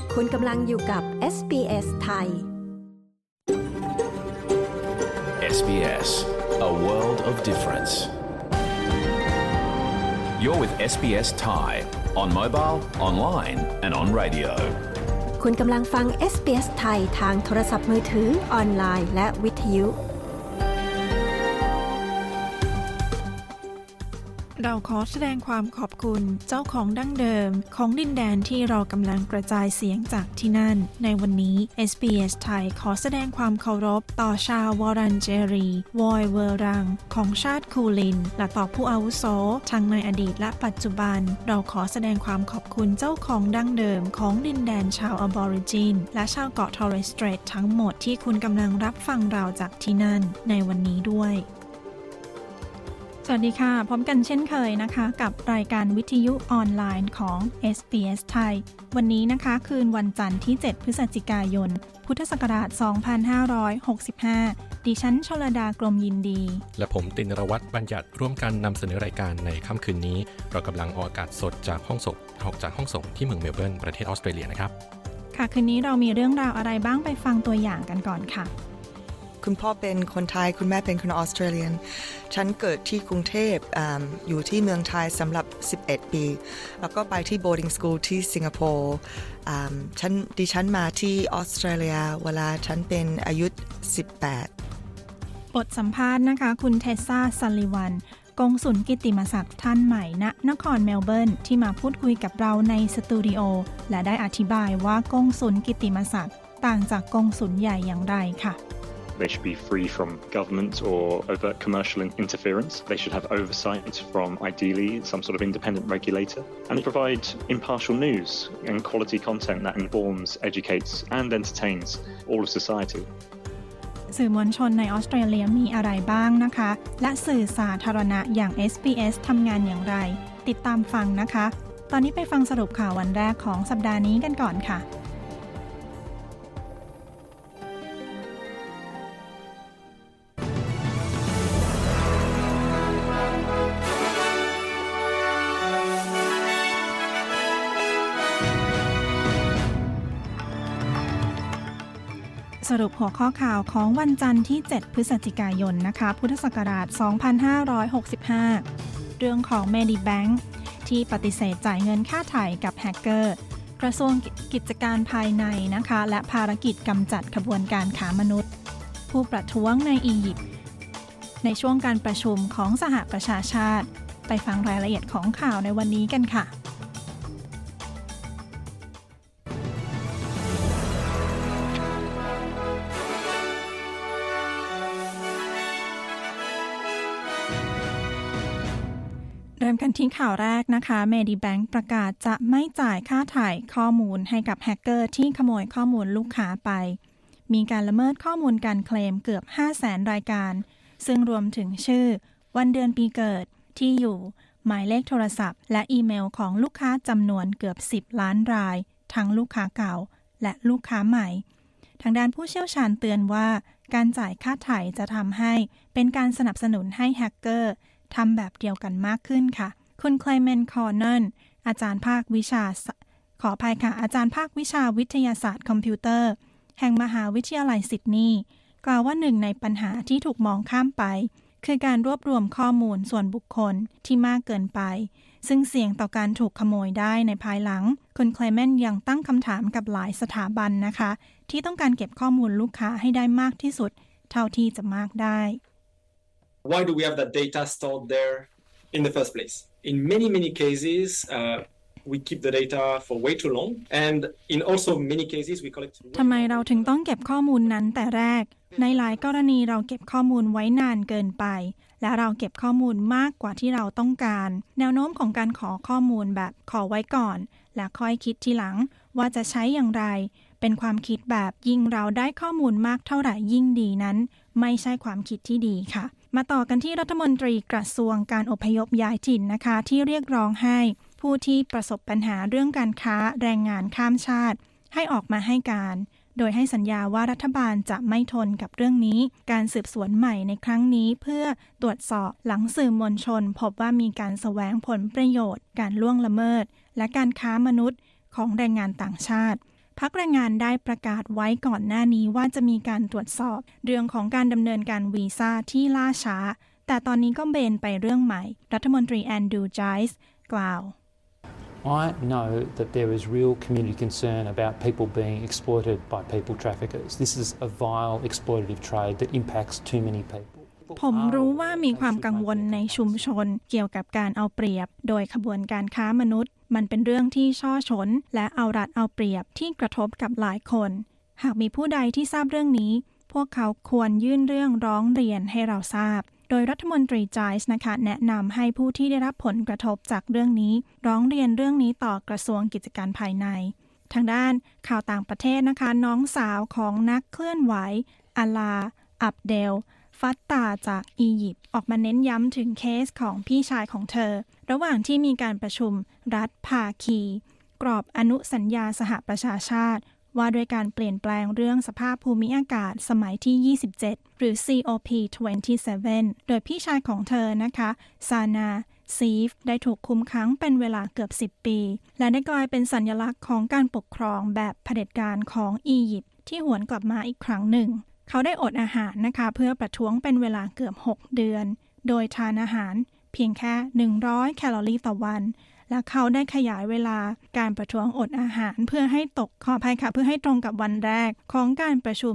คุณกำลังอยู่กับ SBS ไทย SBS A world of difference. You're with SBS Thai on mobile, online and on radio. คุณกำลังฟัง SBS ไทยทางโทรศัพท์มือถือออนไลน์และวิทยุเราขอแสดงความขอบคุณเจ้าของดั้งเดิมของดินแดนที่เรากำลังกระจายเสียงจากที่นั่นในวันนี้ SBS ไทยขอแสดงความเคารพต่อชาววอรันเจรีวอยเวอรังของชาติคูลินและต่อผู้อาวุโสทั้งในอดีตและปัจจุบันเราขอแสดงความขอบคุณเจ้าของดั้งเดิมของดินแดนชาวอบอริจินและชาวเกาะทอร์เรสสเตรททั้งหมดที่คุณกำลังรับฟังเราจากที่นั่นในวันนี้ด้วยสวัสดีค่ะพร้อมกันเช่นเคยนะคะกับรายการวิทยุออนไลน์ของ SBS ไทยวันนี้นะคะคืนวันจันทร์ที่7พฤศจิกายนพุทธศักราช2565ดิฉันชลดากรมยินดีและผมตินรวัตรบัญญัติร่วมกันนำเสนอรายการในค่ำคืนนี้เรากำลังออกอากาศสดจากห้องส่งที่เมืองเมลเบิร์นประเทศออสเตรเลียนะครับค่ะคืนนี้เรามีเรื่องราวอะไรบ้างไปฟังตัวอย่างกันก่อนค่ะคุณพ่อเป็นคนไทยคุณแม่เป็นคนออสเตรเลียนฉันเกิดที่กรุงเทพ อยู่ที่เมืองไทยสำหรับ11ปีแล้วก็ไปที่ boarding school ที่สิงคโปร์ดิฉันมาที่ออสเตรเลียเวลาฉันเป็นอายุ18 บทสัมภาษณ์นะคะคุณเทสซาซัลลิวันกงสุลกิตติมศักดิ์ท่านใหม่ณนครเมลเบิร์นที่มาพูดคุยกับเราในสตูดิโอและได้อธิบายว่ากงสุลกิตติมศักดิ์ต่างจากกงสุลใหญ่อย่างไรค่ะ They should be free from government or overt commercial interference. They should have oversight from, ideally, some sort of independent regulator. And provide impartial news and quality content that informs, educates and entertains all of society. สื่อมวลชนในออสเตรเลียมีอะไรบ้างนะคะและสื่อสาธารณะอย่าง SBS ทำงานอย่างไรติดตามฟังนะคะตอนนี้ไปฟังสรุปข่าววันแรกของสัปดาห์นี้กันก่อนค่ะสรุปหัวข้อข่าวของวันจันทร์ที่7พฤศจิกายนนะคะพุทธศักราช2565เรื่องของ Medibank ที่ปฏิเสธจ่ายเงินค่าไถ่กับแฮกเกอร์กระทรวงกิจการภายในนะคะและภารกิจกำจัดขบวนการค้ามนุษย์ผู้ประท้วงในอียิปต์ในช่วงการประชุมของสหประชาชาติไปฟังรายละเอียดของข่าวในวันนี้กันค่ะเริ่มกันที่ข่าวแรกนะคะ Medibank ประกาศจะไม่จ่ายค่าถ่ายข้อมูลให้กับแฮกเกอร์ที่ขโมยข้อมูลลูกค้าไปมีการละเมิดข้อมูลการเคลมเกือบ 500,000 รายการซึ่งรวมถึงชื่อวันเดือนปีเกิดที่อยู่หมายเลขโทรศัพท์และอีเมลของลูกค้าจำนวนเกือบ10ล้านรายทั้งลูกค้าเก่าและลูกค้าใหม่ทางด้านผู้เชี่ยวชาญเตือนว่าการจ่ายค่าถ่ายจะทำให้เป็นการสนับสนุนให้แฮกเกอร์ทำแบบเดียวกันมากขึ้นค่ะคุณเคลเมนต์ คอร์เนลอาจารย์ภาควิชาวิทยาศาสตร์คอมพิวเตอร์แห่งมหาวิทยาลัยซิดนีย์กล่าวว่าหนึ่งในปัญหาที่ถูกมองข้ามไปคือการรวบรวมข้อมูลส่วนบุคคลที่มากเกินไปซึ่งเสี่ยงต่อการถูกขโมยได้ในภายหลังคุณเคลเมนต์ยังตั้งคำถามกับหลายสถาบันนะคะที่ต้องการเก็บข้อมูลลูกค้าให้ได้มากที่สุดเท่าที่จะมากได้ Why do we have that data stored there in the first place? In many cases, we keep the data for way too long, and in also many cases we collect. ทำไมเราถึงต้องเก็บข้อมูลนั้นแต่แรกในหลายกรณีเราเก็บข้อมูลไว้นานเกินไปและเราเก็บข้อมูลมากกว่าที่เราต้องการแนวโน้มของการขอข้อมูลแบบขอไว้ก่อนและค่อยคิดทีหลังว่าจะใช้อย่างไรเป็นความคิดแบบยิ่งเราได้ข้อมูลมากเท่าไหร่ยิ่งดีนั้นไม่ใช่ความคิดที่ดีค่ะมาต่อกันที่รัฐมนตรีกระทรวงการอพยพย้ายถิ่นนะคะที่เรียกร้องให้ผู้ที่ประสบปัญหาเรื่องการค้าแรงงานข้ามชาติให้ออกมาให้การโดยให้สัญญาว่ารัฐบาลจะไม่ทนกับเรื่องนี้การสืบสวนใหม่ในครั้งนี้เพื่อตรวจสอบหลังสื่อมวลชนพบว่ามีการแสวงผลประโยชน์การล่วงละเมิดและการค้ามนุษย์ของแรงงานต่างชาติพรรคแรงงานได้ประกาศไว้ก่อนหน้านี้ว่าจะมีการตรวจสอบเรื่องของการดำเนินการวีซ่าที่ล่าช้าแต่ตอนนี้ก็เบนไปเรื่องใหม่รัฐมนตรีแอนดรูว์ไจส์กล่าว I know that there is real community concern about people being exploited by people traffickers. This is a vile exploitative trade that impacts too many people. ผมรู้ว่ามีความกังวลในชุมชนเกี่ยวกับการเอาเปรียบโดยขบวนการค้ามนุษย์มันเป็นเรื่องที่ช่อฉนและเอารัดเอาเปรียบที่กระทบกับหลายคนหากมีผู้ใดที่ทราบเรื่องนี้พวกเขาควรยื่นเรื่องร้องเรียนให้เราทราบโดยรัฐมนตรีไจส์นะคะแนะนำให้ผู้ที่ได้รับผลกระทบจากเรื่องนี้ร้องเรียนเรื่องนี้ต่อกระทรวงกิจการภายในทางด้านข่าวต่างประเทศนะคะน้องสาวของนักเคลื่อนไหวอาลาอับเดลฟัตตาจากอียิปต์ออกมาเน้นย้ำถึงเคสของพี่ชายของเธอระหว่างที่มีการประชุมรัฐภาคีกรอบอนุสัญญาสหประชาชาติว่าด้วยการเปลี่ยนแปลงเรื่องสภาพภูมิอากาศสมัยที่27หรือ COP27 โดยพี่ชายของเธอนะคะซานาซีฟได้ถูกคุมขังเป็นเวลาเกือบ10ปีและได้กลายเป็นสัญลักษณ์ของการปกครองแบบเผด็จการของอียิปต์ที่หวนกลับมาอีกครั้งหนึ่งเขาได้อดอาหารนะคะเพื่อประท้วงเป็นเวลาเกือบ6เดือนโดยทานอาหารเพียงแค่100แคลอรี่ต่อวันและเขาได้ขยายเวลาการประท้วงอดอาหารเพื่อให้เพื่อให้ตรงกับวันแรกของการประชุม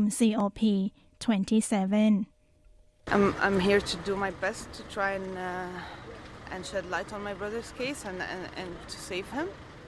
COP27 I'm here to do my best to try and shed light on my brother's case and to save him.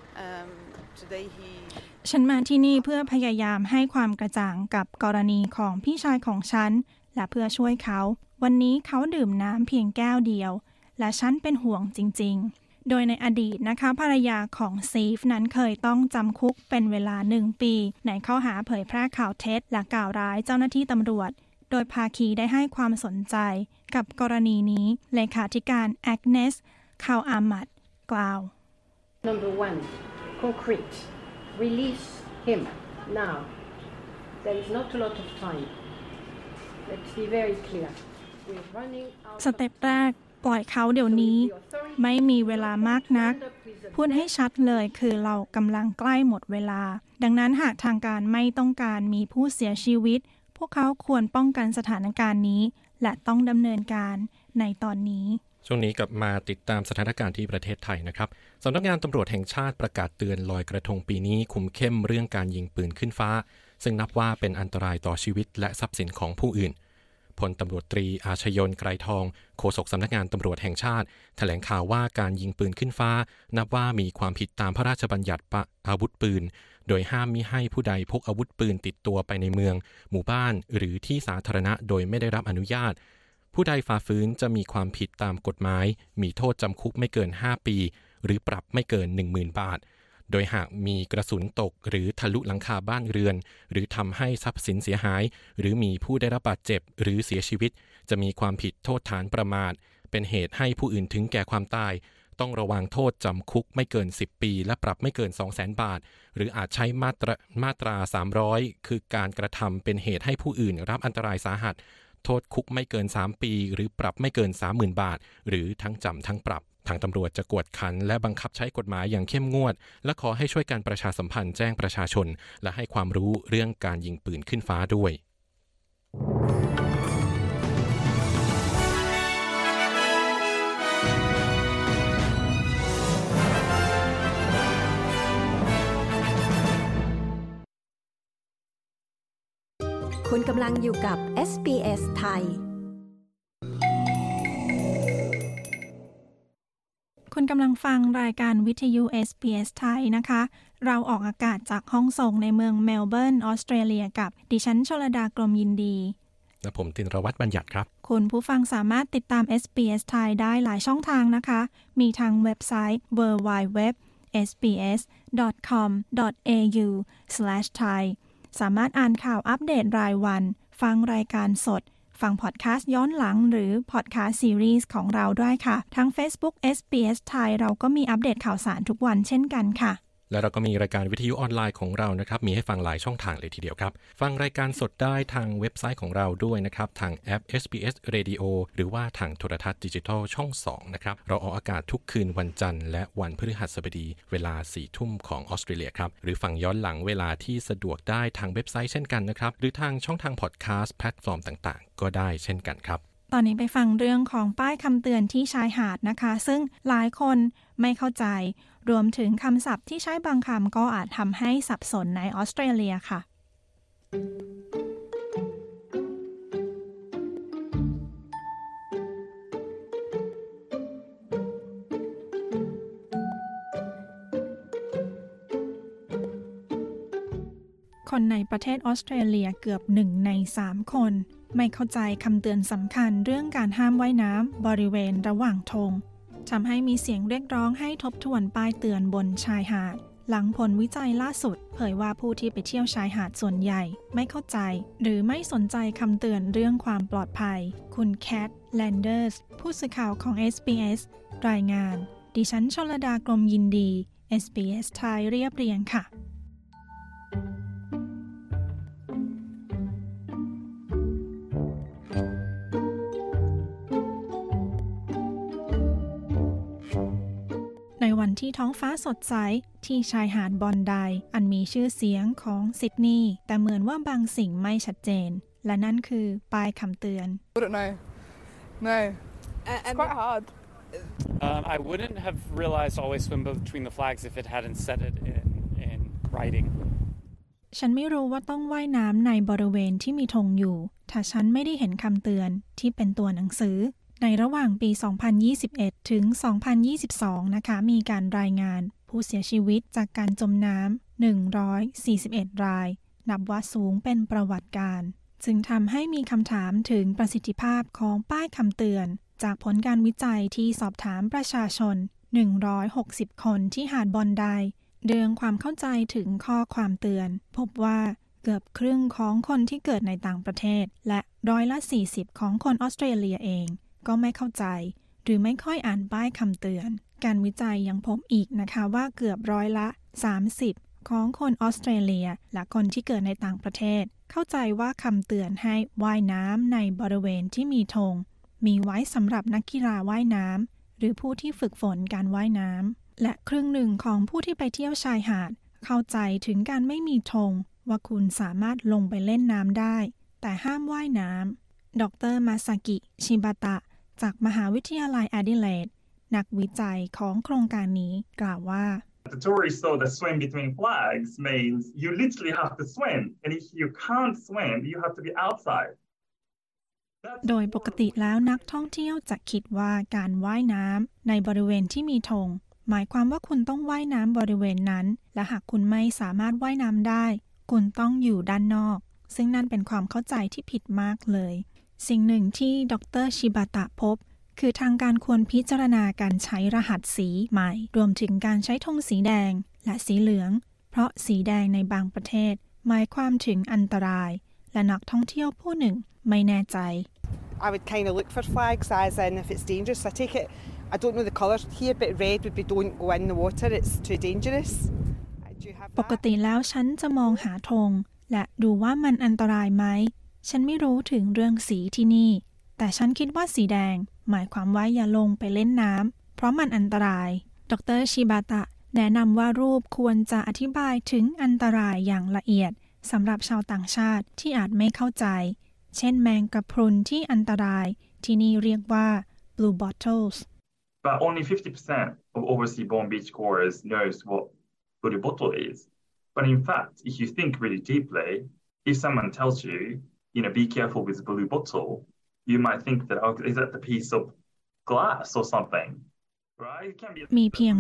Today he ฉันมาที่นี่เพื่อพยายามให้ความกระจ่างกับกรณีของพี่ชายของฉันและเพื่อช่วยเขาวันนี้เขาดื่มน้ำเพียงแก้วเดียวและฉันเป็นห่วงจริงๆโดยในอดีตนะคะภรรยาของซีฟนั้นเคยต้องจำคุกเป็นเวลา1ปีในข้อหาเผยแพร่ข่าวเท็จและกล่าวร้ายเจ้าหน้าที่ตำรวจโดยภาคีได้ให้ความสนใจกับกรณีนี้เลขาธิการแอกเนสคาวอามัดกล่าว Number 1 concrete release him now there is not a lot of time let's be very clear we're running out สเต็ปแรกปล่อยเขาเดี๋ยวนี้ไม่มีเวลามากนักพูดให้ชัดเลยคือเรากำลังใกล้หมดเวลาดังนั้นหากทางการไม่ต้องการมีผู้เสียชีวิตพวกเขาควรป้องกันสถานการณ์นี้และต้องดำเนินการในตอนนี้ช่วงนี้กลับมาติดตามสถานการณ์ที่ประเทศไทยนะครับสำนักงานตำรวจแห่งชาติประกาศเตือนลอยกระทงปีนี้คุมเข้มเรื่องการยิงปืนขึ้นฟ้าซึ่งนับว่าเป็นอันตรายต่อชีวิตและทรัพย์สินของผู้อื่นพลตำรวจตรีอาชยนต์ไกรทองโฆษกสำนักงานตำรวจแห่งชาติแถลงข่าวว่าการยิงปืนขึ้นฟ้านับว่ามีความผิดตามพระราชบัญญัติอาวุธปืนโดยห้ามมิให้ผู้ใดพกอาวุธปืนติดตัวไปในเมืองหมู่บ้านหรือที่สาธารณะโดยไม่ได้รับอนุญาตผู้ใดฝ่าฝืนจะมีความผิดตามกฎหมายมีโทษจำคุกไม่เกิน5ปีหรือปรับไม่เกิน 10,000 บาทโดยหากมีกระสุนตกหรือทะลุหลังคาบ้านเรือนหรือทำให้ทรัพย์สินเสียหายหรือมีผู้ได้รับบาดเจ็บหรือเสียชีวิตจะมีความผิดโทษฐานประมาทเป็นเหตุให้ผู้อื่นถึงแก่ความตายต้องระวังโทษจำคุกไม่เกิน10ปีและปรับไม่เกิน 200,000 บาทหรืออาจใช้มาตรา300คือการกระทำเป็นเหตุให้ผู้อื่นรับอันตรายสาหัสโทษคุกไม่เกิน3ปีหรือปรับไม่เกิน 30,000 บาทหรือทั้งจำทั้งปรับทางตำรวจจะกวดขันและบังคับใช้กฎหมายอย่างเข้มงวดและขอให้ช่วยการประชาสัมพันธ์แจ้งประชาชนและให้ความรู้เรื่องการยิงปืนขึ้นฟ้าด้วยคุณกำลังอยู่กับ SBS ไทยคุณกำลังฟังรายการวิทยุ SBS ไทยนะคะเราออกอากาศจากห้องส่งในเมืองเมลเบิร์นออสเตรเลียกับดิฉันชลดากรมยินดีและผมตินรวัตรบัญญัติครับคุณผู้ฟังสามารถติดตาม SBS ไทยได้หลายช่องทางนะคะมีทางเว็บไซต์ www.sbs.com.au/thai สามารถอ่านข่าวอัปเดตรายวันฟังรายการสดฟังพอดแคสต์ย้อนหลังหรือพอดแคสต์ซีรีส์ของเราด้วยค่ะทั้ง Facebook SBS ไทยเราก็มีอัปเดตข่าวสารทุกวันเช่นกันค่ะและเราก็มีรายการวิทยุออนไลน์ของเรานะครับมีให้ฟังหลายช่องทางเลยทีเดียวครับฟังรายการสดได้ทางเว็บไซต์ของเราด้วยนะครับทางแอป SBS Radio หรือว่าทางโทรทัศน์ดิจิทัลช่อง2นะครับเราออกอากาศทุกคืนวันจันทร์และวันพฤหัสบดีเวลา 4 ทุ่มของออสเตรเลียครับหรือฟังย้อนหลังเวลาที่สะดวกได้ทางเว็บไซต์เช่นกันนะครับหรือทางช่องทางพอดแคสต์แพลตฟอร์มต่างๆก็ได้เช่นกันครับตอนนี้ไปฟังเรื่องของป้ายคำเตือนที่ชายหาดนะคะซึ่งหลายคนไม่เข้าใจรวมถึงคำศัพท์ที่ใช้บางคำก็อาจทำให้สับสนในออสเตรเลียค่ะคนในประเทศออสเตรเลียเกือบ1 ใน 3 คนไม่เข้าใจคำเตือนสำคัญเรื่องการห้ามว่ายน้ำบริเวณระหว่างธงทำให้มีเสียงเรียกร้องให้ทบทวนป้ายเตือนบนชายหาดหลังผลวิจัยล่าสุดเผยว่าผู้ที่ไปเที่ยวชายหาดส่วนใหญ่ไม่เข้าใจหรือไม่สนใจคำเตือนเรื่องความปลอดภัยคุณแคทแลนเดอร์สผู้สื่อข่าวของ SBS รายงานดิฉันชลดากรมยินดี SBS ไทยเรียบเรียงค่ะในวันที่ท้องฟ้าสดใสที่ชายหาดบอนไดอันมีชื่อเสียงของซิดนีย์แต่เหมือนว่าบางสิ่งไม่ชัดเจนและนั่นคือป้ายคำเตือน I don't know. No. It's quite hard. I wouldn't have realized always swim between the flags if it hadn't said it in writing. ฉันไม่รู้ว่าต้องว่ายน้ำในบริเวณที่มีธงอยู่ถ้าฉันไม่ได้เห็นคำเตือนที่เป็นตัวหนังสือในระหว่างปี 2021 ถึง 2022 นะคะมีการรายงานผู้เสียชีวิตจากการจมน้ำ141 รายนับว่าสูงเป็นประวัติการจึงทำให้มีคำถามถึงประสิทธิภาพของป้ายคำเตือนจากผลการวิจัยที่สอบถามประชาชน160 คนที่หาดบอนไดเรื่องความเข้าใจถึงข้อความเตือนพบว่าเกือบครึ่งของคนที่เกิดในต่างประเทศและ40%ของคนออสเตรเลียเองก็ไม่เข้าใจหรือไม่ค่อยอ่านป้ายคำเตือนการวิจัยยังพบอีกนะคะว่าเกือบ30%ของคนออสเตรเลียและคนที่เกิดในต่างประเทศเข้าใจว่าคำเตือนให้ว่ายน้ำในบริเวณที่มีธงมีไว้สำหรับนักกีฬาว่ายน้ำหรือผู้ที่ฝึกฝนการว่ายน้ำและครึ่งหนึ่งของผู้ที่ไปเที่ยวชายหาดเข้าใจถึงการไม่มีธงว่าคุณสามารถลงไปเล่นน้ำได้แต่ห้ามว่ายน้ำดร.มาซากิชิบาตะจากมหาวิทยาลัยแอดิเลดนักวิจัยของโครงการนี้กล่าวว่า The tourists saw that swim between flags means you literally have to swim and if you can't swim you have to be outside โดยปกติแล้วนักท่องเที่ยวจะคิดว่าการว่ายน้ำในบริเวณที่มีธงหมายความว่าคุณต้องว่ายน้ำบริเวณนั้นและหากคุณไม่สามารถว่ายน้ำได้คุณต้องอยู่ด้านนอกซึ่งนั่นเป็นความเข้าใจที่ผิดมากเลยสิ่งหนึ่งที่ดร.ชิบาตะพบคือทางการควรพิจารณาการใช้รหัสสีใหม่รวมถึงการใช้ธงสีแดงและสีเหลืองเพราะสีแดงในบางประเทศหมายความถึงอันตรายและนักท่องเที่ยวผู้หนึ่งไม่แน่ใจ I would kind of look for flags as in if it's dangerous. I take it, I don't know the colours here, but red would be don't go in the water, it's too dangerous. ปกติแล้วฉันจะมองหาธงและดูว่ามันอันตรายไหมฉันไม่รู้ถึงเรื่องสีที่นี่แต่ฉันคิดว่าสีแดงหมายความว่าอย่าลงไปเล่นน้ำเพราะมันอันตรายดร.ชิบาตะแนะนำว่ารูปควรจะอธิบายถึงอันตรายอย่างละเอียดสำหรับชาวต่างชาติที่อาจไม่เข้าใจเช่นแมงกะพรุนที่อันตรายที่นี่เรียกว่า blue bottles But only 50% of overseas born beachgoers knows what blue bottle is. But in fact, if you think really deeply, if someone tells you, be careful with the blue bottle, you might think that, oh, is that the piece of glass or something? Right? มีเพียง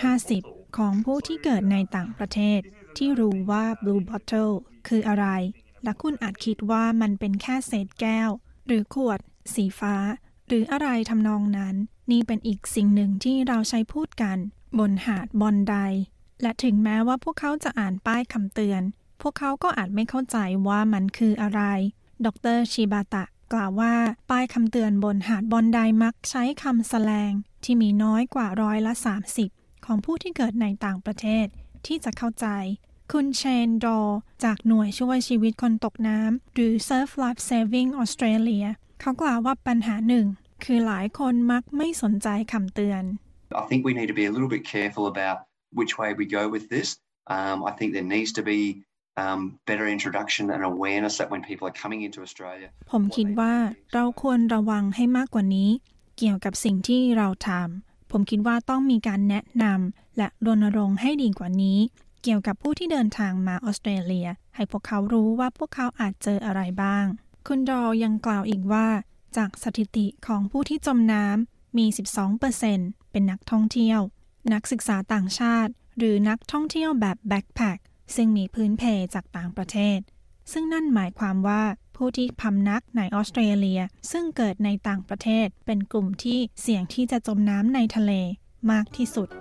50%ของผู้ที่เกิดในต่างประเทศที่รู้ว่า blue bottle คืออะไรและคุณอาจคิดว่ามันเป็นแค่เศษแก้วหรือขวดสีฟ้าหรืออะไรทำนองนั้นนี่เป็นอีกสิ่งหนึ่งที่เราใช้พูดกันบนหาดบอนไดและถึงแม้ว่าพวกเขาจะอ่านป้ายคำเตือนพวกเขาก็อาจไม่เข้าใจว่ามันคืออะไรดร.ชิบาตะกล่าวว่าป้ายคำเตือนบนหาดบอนไดมักใช้คำแสแลงที่มีน้อยกว่า30%ของผู้ที่เกิดในต่างประเทศที่จะเข้าใจคุณเชนดอจากหน่วยช่วยชีวิตคนตกน้ำหรือ Surf Life Saving Australia เขากล่าวว่าปัญหาหนึ่งคือหลายคนมักไม่สนใจคำเตือน I think we need to be a little bit careful about which way we go with this. I think there needs to be better introduction and awareness that when people are coming into Australia ผมคิดว่าเราควรระวังให้มากกว่านี้เกี่ยวกับสิ่งที่เราทำผมคิดว่าต้องมีการแนะนำและรณรงค์ให้ดีกว่านี้เกี่ยวกับผู้ที่เดินทางมาออสเตรเลียให้พวกเขารู้ว่าพวกเขาอาจเจออะไรบ้างคุณดอยังกล่าวอีกว่าจากสถิติของผู้ที่จมน้ำมี 12% เป็นนักท่องเที่ยวนักศึกษาต่างชาติหรือนักท่องเที่ยวแบบแบ็คแพ็คซึ่งมีพื้นเพจากต่างประเทศซึ่งนั่นหมายความว่าผู้ที่พำนักในออสเตรเลียซึ่งเกิดในต่างประเทศเป็นกลุ่มที่เสี่ยงที่จะจมน้ำในทะเลมากที่สุด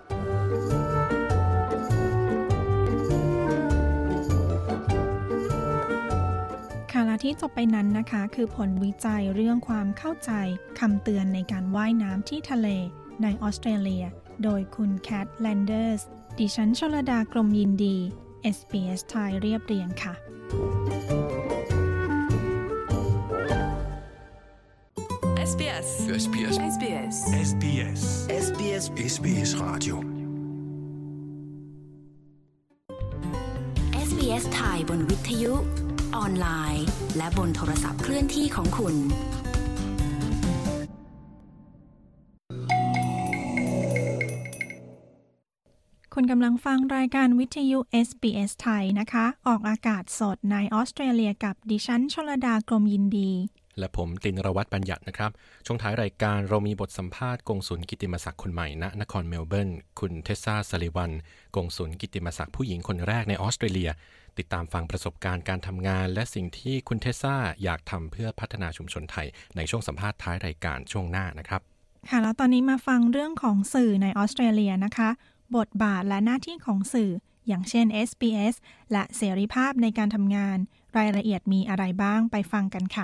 ค่ะและที่จบไปนั้นนะคะคือผลวิจัยเรื่องความเข้าใจคำเตือนในการว่ายน้ำที่ทะเลในออสเตรเลียโดยคุณแคทแลนเดอร์สดิฉันชลดากรมยินดี SBS ไทยเรียบเรียงค่ะ SBS SBS SBS SBS SBS SBS Radio SBS ไทยบนวิทยุออนไลน์และบนโทรศัพท์เคลื่อนที่ของคุณคุณกำลังฟังรายการวิทยุ SBS ไทยนะคะออกอากาศสดในออสเตรเลียกับดิฉันชลดากรมยินดีและผมตินรวัตรบัญญัตินะครับช่วงท้ายรายการเรามีบทสัมภาษณ์กงสุลกิตติมศักดิ์คนใหม่ณนครเมลเบิร์นคุณเทสซาซัลลิวันกงสุลกิตติมศักดิ์ผู้หญิงคนแรกในออสเตรเลียติดตามฟังประสบการณ์การทำงานและสิ่งที่คุณเทสซาอยากทำเพื่อพัฒนาชุมชนไทยในช่วงสัมภาษณ์ท้ายรายการช่วงหน้านะครับค่ะแล้วตอนนี้มาฟังเรื่องของสื่อในออสเตรเลียนะคะบทบาทและหน้าที่ของสื่ออย่างเช่น SBS และเสรีภาพในการทำงานรายละเอียดมีอะไรบ้างไปฟังกันค่ะ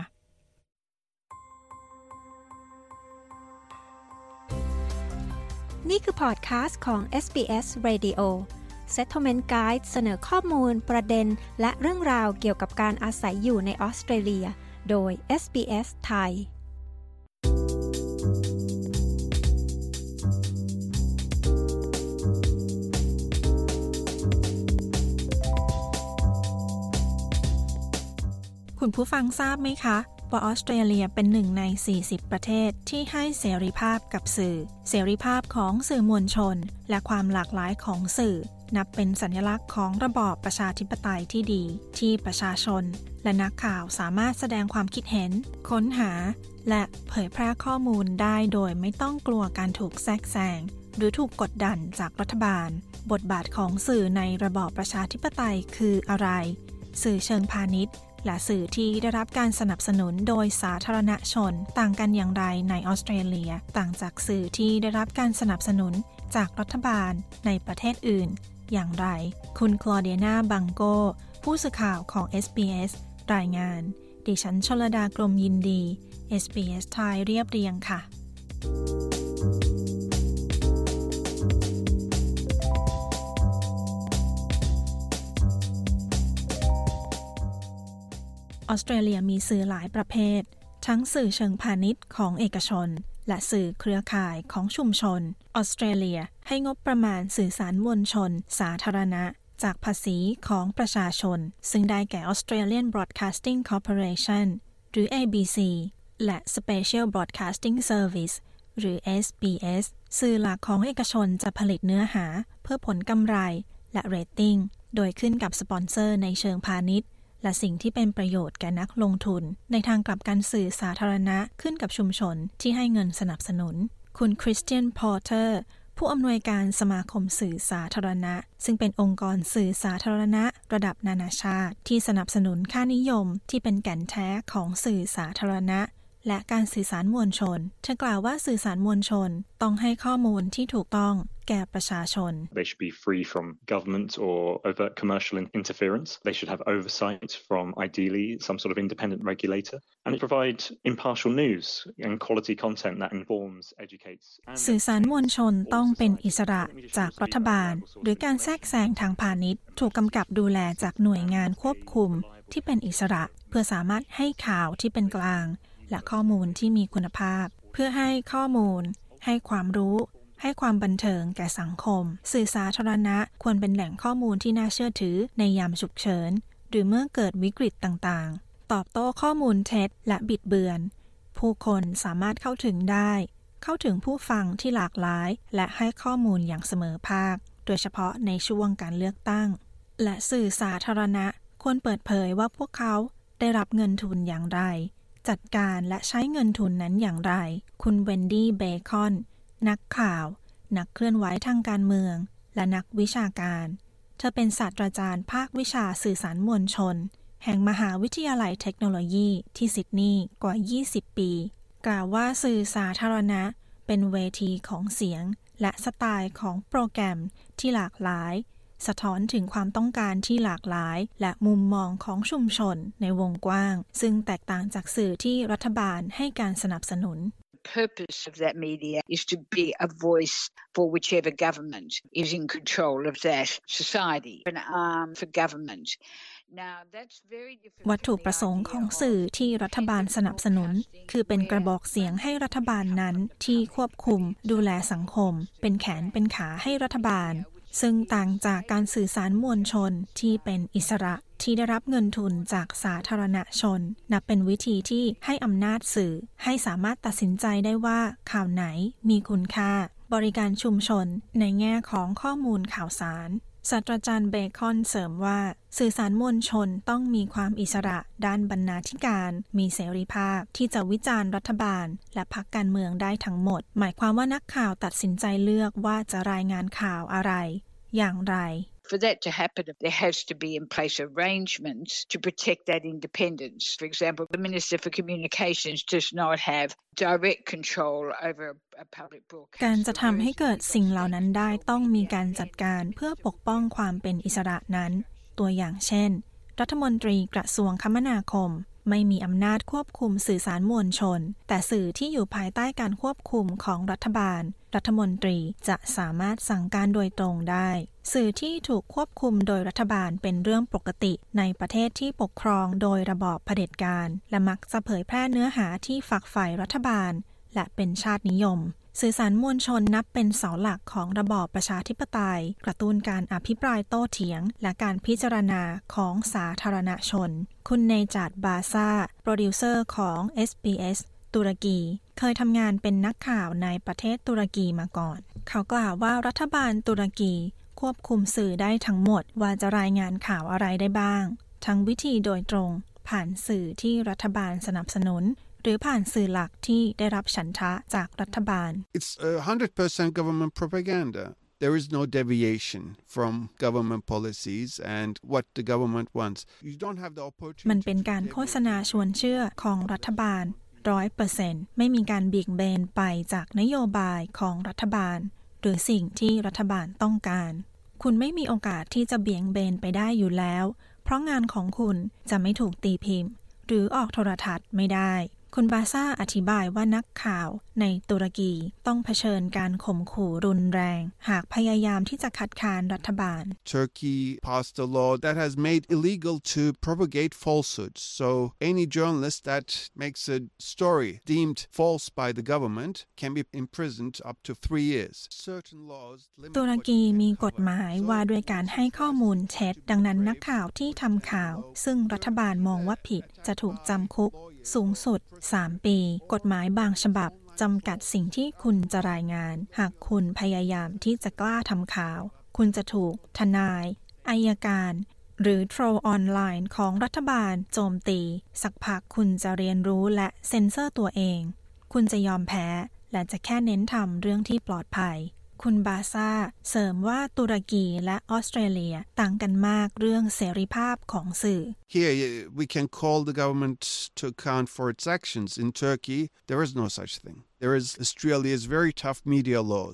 นี่คือพอดคาสต์ของ SBS Radio Settlement Guide เสนอข้อมูลประเด็นและเรื่องราวเกี่ยวกับการอาศัยอยู่ในออสเตรเลียโดย SBS ไทยคุณผู้ฟังทราบไหมคะว่าออสเตรเลียเป็นหนึ่งใน40ประเทศที่ให้เสรีภาพกับสื่อเสรีภาพของสื่อมวลชนและความหลากหลายของสื่อนับเป็นสัญลักษณ์ของระบอบประชาธิปไตยที่ดีที่ประชาชนและนักข่าวสามารถแสดงความคิดเห็นค้นหาและเผยแพร่ข้อมูลได้โดยไม่ต้องกลัวการถูกแทรกแซงหรือถูกกดดันจากรัฐบาลบทบาทของสื่อในระบอบประชาธิปไตยคืออะไรสื่อเชิงพาณิชย์และสื่อที่ได้รับการสนับสนุนโดยสาธารณชนต่างกันอย่างไรในออสเตรเลียต่างจากสื่อที่ได้รับการสนับสนุนจากรัฐบาลในประเทศอื่นอย่างไรคุณคลอเดียนาบังโกผู้สื่อข่าวของ SBS รายงานดิฉันชลดากรมยินดี SBS ไทยเรียบเรียงค่ะออสเตรเลียมีสื่อหลายประเภททั้งสื่อเชิงพาณิชย์ของเอกชนและสื่อเครือข่ายของชุมชนออสเตรเลียให้งบประมาณสื่อสารมวลชนสาธารณะจากภาษีของประชาชนซึ่งได้แก่ Australian Broadcasting Corporation หรือ ABC และ Special Broadcasting Service หรือ SBS สื่อหลักของเอกชนจะผลิตเนื้อหาเพื่อผลกำไรและเรตติ้งโดยขึ้นกับสปอนเซอร์ในเชิงพาณิชย์และสิ่งที่เป็นประโยชน์แก่นักลงทุนในทางกลับกันสื่อสาธารณะขึ้นกับชุมชนที่ให้เงินสนับสนุนคุณคริสเตียนพอร์เตอร์ผู้อำนวยการสมาคมสื่อสาธารณะซึ่งเป็นองค์กรสื่อสาธารณะระดับนานาชาติที่สนับสนุนค่านิยมที่เป็นแก่นแท้ของสื่อสาธารณะและการสื่อสารมวลชนเธอกล่าวว่าสื่อสารมวลชนต้องให้ข้อมูลที่ถูกต้องแก่ประชาชน They should be free from government or overt commercial interference. They should have oversight from ideally some sort of independent regulator, and it provide impartial news and quality content that informs, educates. สื่อสารมวลชนต้องเป็นอิสระจากรัฐบาลหรือการแทรกแซงทางพาณิชย์ถูกกำกับดูแลจากหน่วยงานควบคุมที่เป็นอิสระเพื่อสามารถให้ข่าวที่เป็นกลางและข้อมูลที่มีคุณภาพเพื่อให้ข้อมูลให้ความรู้ให้ความบันเทิงแก่สังคมสื่อสาธารณะควรเป็นแหล่งข้อมูลที่น่าเชื่อถือในยามฉุกเฉินหรือเมื่อเกิดวิกฤตต่างๆตอบโต้ข้อมูลเท็จและบิดเบือนผู้คนสามารถเข้าถึงได้เข้าถึงผู้ฟังที่หลากหลายและให้ข้อมูลอย่างเสมอภาคโดยเฉพาะในช่วงการเลือกตั้งและสื่อสาธารณะควรเปิดเผยว่าพวกเขาได้รับเงินทุนอย่างไรจัดการและใช้เงินทุนนั้นอย่างไรคุณเวนดี้เบคอนนักข่าวนักเคลื่อนไหวทางการเมืองและนักวิชาการเธอเป็นศาสตราจารย์ภาควิชาสื่อสารมวลชนแห่งมหาวิทยาลัยเทคโนโลยีที่ซิดนีย์กว่า20ปีกล่าวว่าสื่อสาธารณะเป็นเวทีของเสียงและสไตล์ของโปรแกรมที่หลากหลายสะท้อนถึงความต้องการที่หลากหลายและมุมมองของชุมชนในวงกว้างซึ่งแตกต่างจากสื่อที่รัฐบาลให้การสนับสนุน The purpose of that media is to be a voice for whichever government is in control of that society, an arm for government. Now, that's very different. วัตถุประสงค์ของสื่อที่รัฐบาลสนับสนุนคือเป็นกระบอกเสียงให้รัฐบาลนั้นที่ควบคุมดูแลสังคมเป็นแขนเป็นขาให้รัฐบาลซึ่งต่างจากการสื่อสารมวลชนที่เป็นอิสระที่ได้รับเงินทุนจากสาธารณชนนับเป็นวิธีที่ให้อำนาจสื่อให้สามารถตัดสินใจได้ว่าข่าวไหนมีคุณค่าบริการชุมชนในแง่ของข้อมูลข่าวสารศาสตราจารย์เบคอนเสริมว่าสื่อสารมวลชนต้องมีความอิสระด้านบรรณาธิการมีเสรีภาพที่จะวิจารณ์รัฐบาลและพรรคการเมืองได้ทั้งหมดหมายความว่านักข่าวตัดสินใจเลือกว่าจะรายงานข่าวอะไรอย่างไร For that to happen, there has to be in place arrangements to protect that independence. For example, the Minister for Communications does not have direct control over a public broadcast. การจะทำให้เกิดสิ่งเหล่านั้นได้ต้องมีการจัดการเพื่อปกป้องความเป็นอิสระนั้นตัวอย่างเช่นรัฐมนตรีกระทรวงคมนาคมไม่มีอำนาจควบคุมสื่อสารมวลชนแต่สื่อที่อยู่ภายใต้การควบคุมของรัฐบาลรัฐมนตรีจะสามารถสั่งการโดยตรงได้สื่อที่ถูกควบคุมโดยรัฐบาลเป็นเรื่องปกติในประเทศที่ปกครองโดยระบอบเผด็จการและมักจะเผยแพร่เนื้อหาที่ฝักใฝ่รัฐบาลและเป็นชาตินิยมสื่อสารมวลชนนับเป็นเสาหลักของระบอบประชาธิปไตยกระตุ้นการอภิปรายโต้เถียงและการพิจารณาของสาธารณชนคุณเนจาดบาซาโปรดิวเซอร์ของ SBS ตุรกีเคยทำงานเป็นนักข่าวในประเทศตุรกีมาก่อนเขากล่าวว่ารัฐบาลตุรกีควบคุมสื่อได้ทั้งหมดว่าจะรายงานข่าวอะไรได้บ้างทั้งวิธีโดยตรงผ่านสื่อที่รัฐบาลสนับสนุนหรือผ่านสื่อหลักที่ได้รับฉันทะจากรัฐบาล It's 100% government propaganda. There is no deviation from government policies and what the government wants. You don't have the opportunity. มันเป็นการโฆษณาชวนเชื่อของรัฐบาล 100% ไม่มีการเบี่ยงเบนไปจากนโยบายของรัฐบาลหรือสิ่งที่รัฐบาลต้องการคุณไม่มีโอกาสที่จะเบี่ยงเบนไปได้อยู่แล้วเพราะงานของคุณจะไม่ถูกตีพิมพ์หรือออกโทรทัศน์ไม่ได้คุณบาซ่าอธิบายว่านักข่าวในตุรกีต้องเผชิญการข่มขู่รุนแรงหากพยายามที่จะคัดค้านรัฐบาล Turkey passed a law that has made illegal to propagate falsehoods. So any journalist that makes a story deemed false by the government can be imprisoned up to 3 years. Certain laws limit ตุรกีมีกฎหมายว่าด้วยการให้ข้อมูลเท็จดังนั้นนักข่าวที่ทำข่าวซึ่งรัฐบาลมองว่าผิดจะถูกจำคุกสูงสุด3 ปีกฎหมายบางฉบับจำกัดสิ่งที่คุณจะรายงานหากคุณพยายามที่จะกล้าทำข่าวคุณจะถูกทนายอัยการหรือโทรออนไลน์ของรัฐบาลโจมตีสักพักคุณจะเรียนรู้และเซ็นเซอร์ตัวเองคุณจะยอมแพ้และจะแค่เน้นทำเรื่องที่ปลอดภัยคุณบาซ่าเสริมว่าตุรกีและออสเตรเลียต่างกันมากเรื่องเสรีภาพของสื่อ Here we can call the government to account for its actions. In Turkey, there is no such thing. There is Australia's very tough media laws.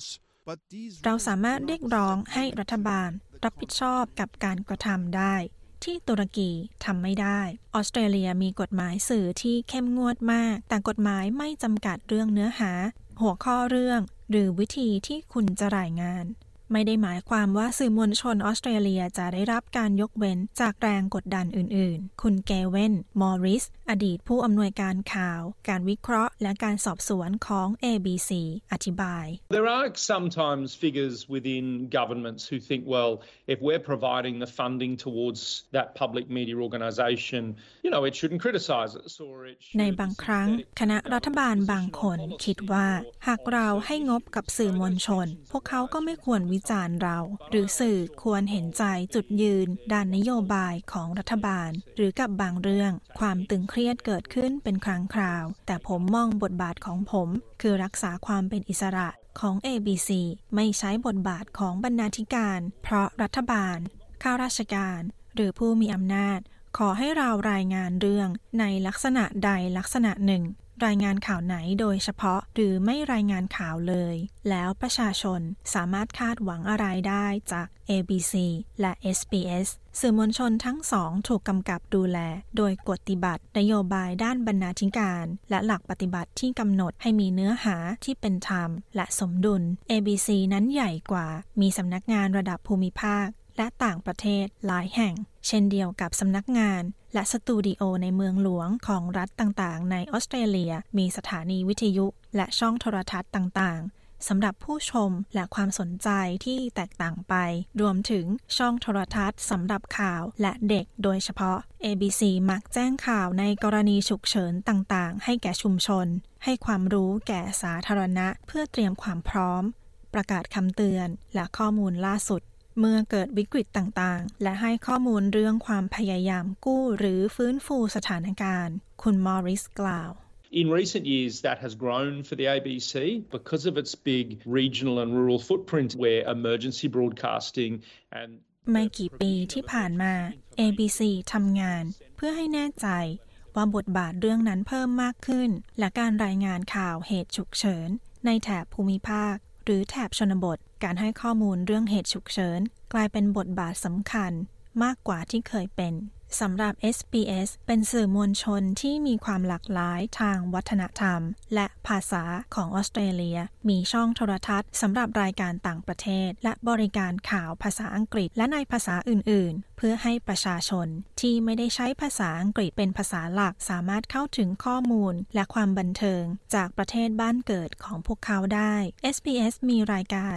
เราสามารถเรียกร้องให้รัฐบาลรับผิดชอบกับการกระทำได้ที่ตุรกีทำไม่ได้ออสเตรเลียมีกฎหมายสื่อที่เข้มงวดมากแต่กฎหมายไม่จำกัดเรื่องเนื้อหาหัวข้อเรื่องหรือวิธีที่คุณจะรายงานไม่ได้หมายความว่าสื่อมวลชนออสเตรเลียจะได้รับการยกเว้นจากแรงกดดันอื่นๆคุณเกเวนมอริสอดีตผู้อำนวยการข่าวการวิเคราะห์และการสอบสวนของ ABC อธิบาย There are sometimes figures within governments who think, well, if we're providing the funding towards that public media organisation, it shouldn't criticise us or it should... ในบางครั้งคณะรัฐบาลบางคนคิดว่าหากเราให้งบกับสื่อมวลชนพวกเขาก็ไม่ควรวิจารณ์เราหรือสื่อควรเห็นใจจุดยืนด้านนโยบายของรัฐบาลหรือกับบางเรื่องความตึงเครียดเกิดขึ้นเป็นครั้งคราวแต่ผมมองบทบาทของผมคือรักษาความเป็นอิสระของ ABC ไม่ใช้บทบาทของบรรณาธิการเพราะรัฐบาลข้าราชการหรือผู้มีอำนาจขอให้เรารายงานเรื่องในลักษณะใดลักษณะหนึ่งรายงานข่าวไหนโดยเฉพาะหรือไม่รายงานข่าวเลยแล้วประชาชนสามารถคาดหวังอะไรได้จาก ABC และ SBS สื่อมวลชนทั้งสองถูกกำกับดูแลโดยกฎปฏิบัตินโยบายด้านบรรณาธิการและหลักปฏิบัติที่กำหนดให้มีเนื้อหาที่เป็นธรรมและสมดุล ABC นั้นใหญ่กว่ามีสำนักงานระดับภูมิภาคและต่างประเทศหลายแห่งเช่นเดียวกับสำนักงานและสตูดิโอในเมืองหลวงของรัฐต่างๆในออสเตรเลียมีสถานีวิทยุและช่องโทรทัศน์ต่างๆสำหรับผู้ชมและความสนใจที่แตกต่างไปรวมถึงช่องโทรทัศน์สำหรับข่าวและเด็กโดยเฉพาะ ABC มักแจ้งข่าวในกรณีฉุกเฉินต่างๆให้แก่ชุมชนให้ความรู้แก่สาธารณะเพื่อเตรียมความพร้อมประกาศคำเตือนและข้อมูลล่าสุดเมื่อเกิดวิกฤตต่างๆและให้ข้อมูลเรื่องความพยายามกู้หรือฟื้นฟูสถานการณ์คุณมอริสกล่าว In recent years, that has grown for the ABC because of its big regional and rural footprint where emergency broadcasting and ไม่กี่ปีที่ผ่านมา ABC ทำงานเพื่อให้แน่ใจว่าบทบาทเรื่องนั้นเพิ่มมากขึ้นและการรายงานข่าวเหตุฉุกเฉินในแถบภูมิภาคหรือแถบชนบทการให้ข้อมูลเรื่องเหตุฉุกเฉินกลายเป็นบทบาทสำคัญมากกว่าที่เคยเป็นสำหรับ SBS เป็นสื่อมวลชนที่มีความหลากหลายทางวัฒนธรรมและภาษาของออสเตรเลียมีช่องโทรทัศน์สำหรับรายการต่างประเทศและบริการข่าวภาษาอังกฤษและในภาษาอื่นๆเพื่อให้ประชาชนที่ไม่ได้ใช้ภาษาอังกฤษเป็นภาษาหลักสามารถเข้าถึงข้อมูลและความบันเทิงจากประเทศบ้านเกิดของพวกเขาได้ SBS มีรายการ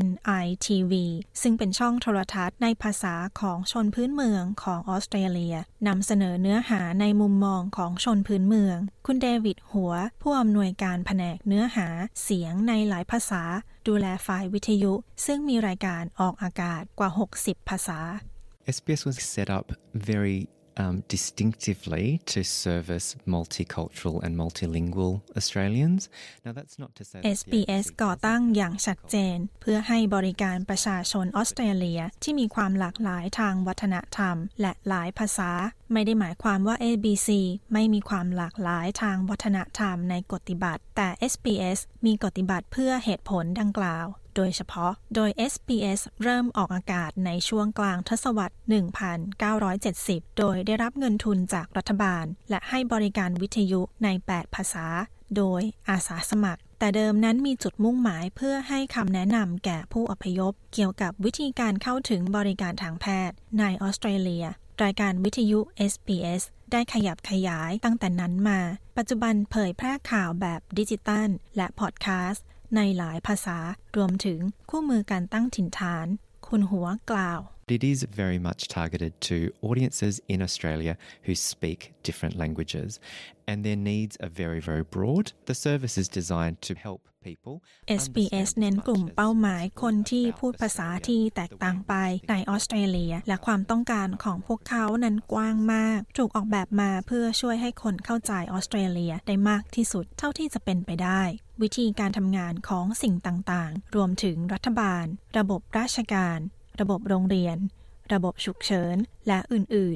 NITV ซึ่งเป็นช่องโทรทัศน์ในภาษาของชนพื้นเมืองของออสเตรเลียนำเสนอเนื้อหาในมุมมองของชนพื้นเมืองคุณเดวิดหัวผู้อำนวยการแผนกเนื้อหาเสียงในหลายภาษาดูแลฝ่ายวิทยุซึ่งมีรายการออกอากาศกว่า60ภาษา SBS was set up very distinctively to service multicultural and multilingual Australians. Now that's not to say SBS ก่อตั้งอย่างชัดเจนเพื่อให้บริการประชาชนออสเตรเลียที่มีความหลากหลายทางวัฒนธรรมและหลายภาษาไม่ได้หมายความว่า ABC ไม่มีความหลากหลายทางวัฒนธรรมในกฎปฏิบัติแต่ SBS มีกฎปฏิบัติเพื่อเหตุผลดังกล่าวโดยเฉพาะโดย SBS เริ่มออกอากาศในช่วงกลางทศวรรษ 1970 โดยได้รับเงินทุนจากรัฐบาลและให้บริการวิทยุใน 8 ภาษาโดยอาสาสมัครแต่เดิมนั้นมีจุดมุ่งหมายเพื่อให้คำแนะนำแก่ผู้อพยพเกี่ยวกับวิธีการเข้าถึงบริการทางแพทย์ในออสเตรเลียรายการวิทยุ SBS ได้ขยับขยายตั้งแต่นั้นมาปัจจุบันเผยแพร่ข่าวแบบดิจิตัลและพอดแคสต์ในหลายภาษารวมถึงคู่มือการตั้งถิ่นฐานคุณหัวกล่าว It is very much targeted to audiences in Australia who speak different languages and their needs are very, very broad. The service is designed to help people. SBS เน้นกลุ่มเป้าหมายคนที่พูดภาษาที่แตกต่างไปในออสเตรเลียและความต้องการของพวกเขานั้นกว้างมากถูกออกแบบมาเพื่อช่วยให้คนเข้าใจออสเตรเลียได้มากที่สุดเท่าที่จะเป็นไปได้วิธีการทำงานของสิ่งต่างๆรวมถึงรัฐบาลระบบราชการระบบโรงเรียนระบบฉุกเฉินและอื่นๆเ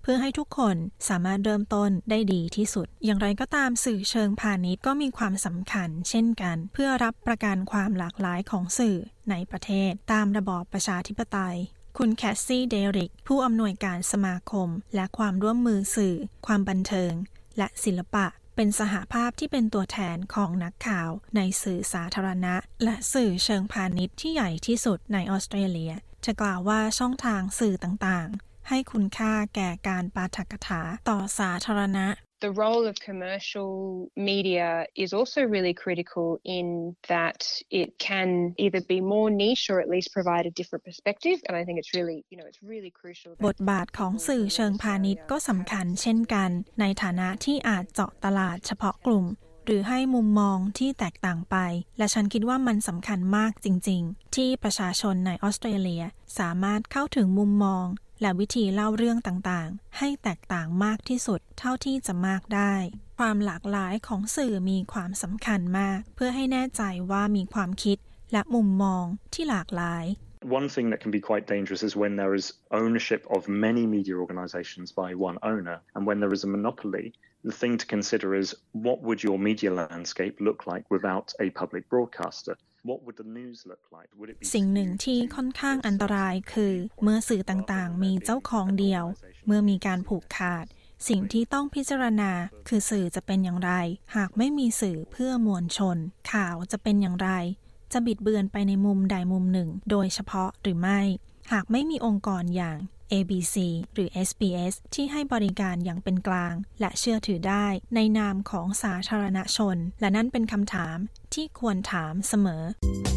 พื่อให้ทุกคนสามารถเริ่มต้นได้ดีที่สุดอย่างไรก็ตามสื่อเชิงพาณิชย์ก็มีความสำคัญเช่นกันเพื่อรับประกันความหลากหลายของสื่อในประเทศตามระบอบประชาธิปไตยคุณแคสซี่เดริกผู้อำนวยการสมาคมและความร่วมมือสื่อความบันเทิงและศิลปะเป็นสหภาพที่เป็นตัวแทนของนักข่าวในสื่อสาธารณะและสื่อเชิงพาณิชย์ที่ใหญ่ที่สุดในออสเตรเลียจะกล่าวว่าช่องทางสื่อต่างๆให้คุณค่าแก่การปาฐกถาต่อสาธารณะ The role of commercial media is also really critical in that it can either be more niche or at least provide a different perspective. And I think it's really, it's really crucial. บทบาทของสื่อเชิงพาณิชย์ก็สำคัญเช่นกันในฐานะที่อาจเจาะตลาดเฉพาะกลุ่มหรือให้มุมมองที่แตกต่างไปและฉันคิดว่ามันสำคัญมากจริงๆที่ประชาชนในออสเตรเลียสามารถเข้าถึงมุมมองและวิธีเล่าเรื่องต่างๆให้แตกต่างมากที่สุดเท่าที่จะมากได้ความหลากหลายของสื่อมีความสำคัญมากเพื่อให้แน่ใจว่ามีความคิดและมุมมองที่หลากหลาย One thing that can be quite dangerous is when there is ownership of many media organizations by one owner, and when there is a monopoly, the thing to consider is what would your media landscape look like without a public broadcaster?What would the news look like? Would it be สิ่งหนึ่งที่ค่อนข้างอันตรายคือเมื่อสื่อต่างๆมีเจ้าของเดียวเมื่อมีการผูกขาดสิ่งที่ต้องพิจารณาคือสื่อจะเป็นอย่างไรหากไม่มีสื่อเพื่อมวลชนข่าวจะเป็นอย่างไรจะบิดเบือนไปในมุมใดมุมหนึ่งโดยเฉพาะหรือไม่หากไม่มีองค์กรอย่าง ABC หรือ SBS ที่ให้บริการอย่างเป็นกลางและเชื่อถือได้ในนามของสาธารณชนและนั่นเป็นคำถามที่ควรถามเสมอ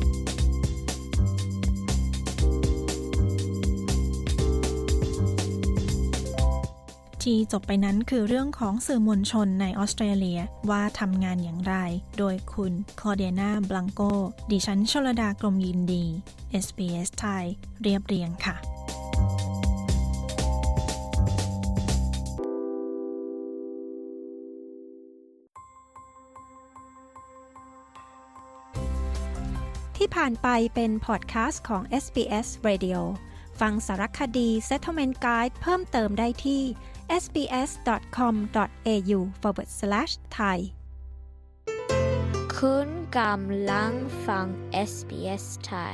ที่จบไปนั้นคือเรื่องของสื่อมวลชนในออสเตรเลียว่าทำงานอย่างไรโดยคุณคลอเดียนาบลังโกดิฉันชลดากรมยินดี SBS ไทยเรียบเรียงค่ะที่ผ่านไปเป็นพอดแคสต์ของ SBS Radio ฟังสารคดี Settlement Guide เพิ่มเติมได้ที่ sbs.com.au/thai คุณกำลังฟัง SBS Thai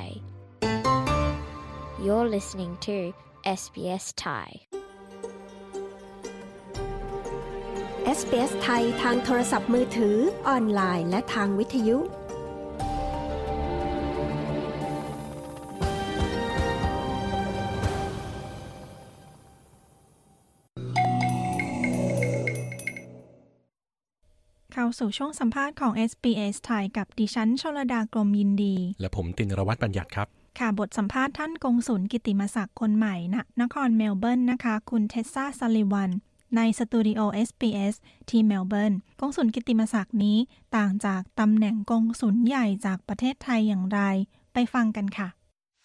You're listening to SBS Thai SBS ไทยทางโทรศัพท์มือถือออนไลน์และทางวิทยุเข้าสู่ช่วงสัมภาษณ์ของ SBS ไทยกับดิฉันชลดากรมยินดีและผมตินรวัฒน์บัญญัติครับค่ะบทสัมภาษณ์ท่านกงสุลกิตติมศักดิ์คนใหม่ณนครเมลเบิร์นนะคะคุณเทสซาซัลลิวันในสตูดิโอ SBS ที่เมลเบิร์นกงสุลกิตติมศักดิ์นี้ต่างจากตำแหน่งกงสุลใหญ่จากประเทศไทยอย่างไรไปฟังกันค่ะ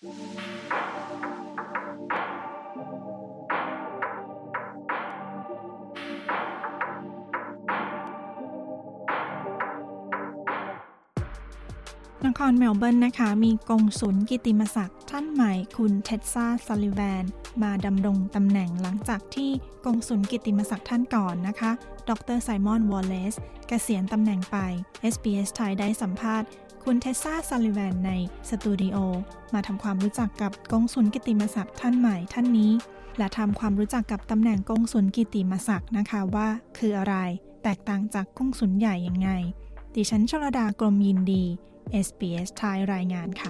นครเมลเบิร์นนะคะมีกงสุลกิตติมศักดิ์ท่านใหม่คุณเท็ดซาซัลลิแวนมาดำรงตำแหน่งหลังจากที่กงสุลกิตติมศักดิ์ท่านก่อนนะคะดร.ไซมอนวอลเลซเกษียณตำแหน่งไป SBS ไทยได้สัมภาษณ์คุณเท็ดซาซัลลิแวนในสตูดิโอมาทำความรู้จักกับกงสุลกิตติมศักดิ์ท่านใหม่ท่านนี้และทำความรู้จักกับตำแหน่งกงสุลกิตติมศักดิ์นะคะว่าคืออะไรแตกต่างจากกงสุลใหญ่ยังไงดิฉันชลดากรมยินดีSBS ไทยรายงานค่ะ